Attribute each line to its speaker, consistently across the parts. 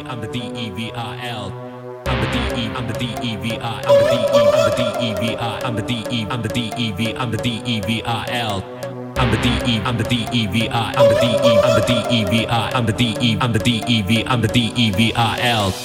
Speaker 1: I'm the DEVIL. I'm the DE, I'm the DEVI, I'm the DE, I'm the DEVI, I'm the DE, I'm the DEV, I'm the DEVIL. I'm the DE, I'm the DEVI, I'm the DE, I'm the DEVI, I'm the DE, I'm the DEV, I'm the DEVIL.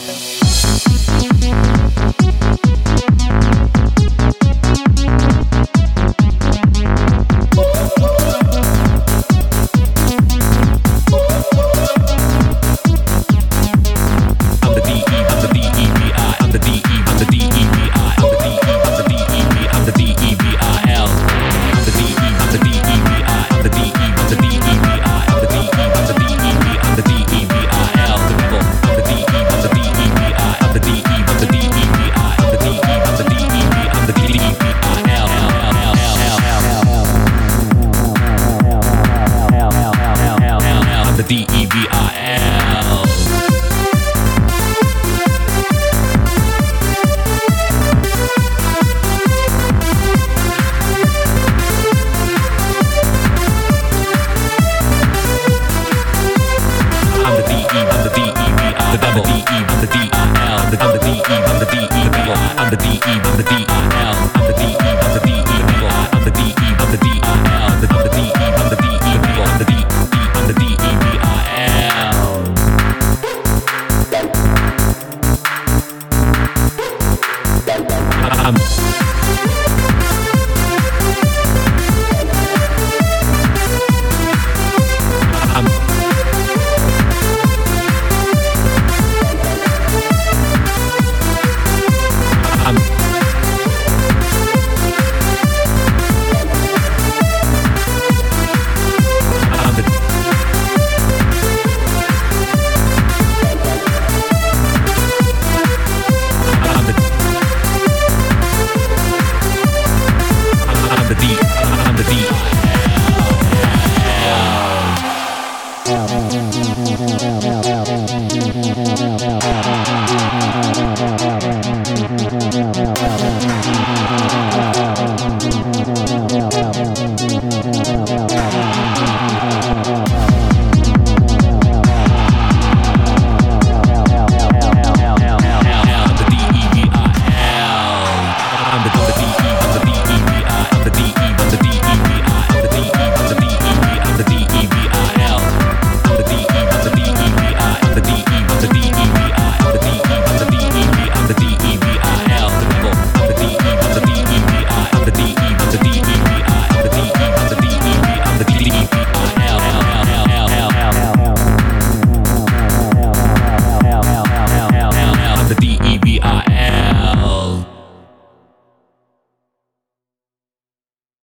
Speaker 1: I'm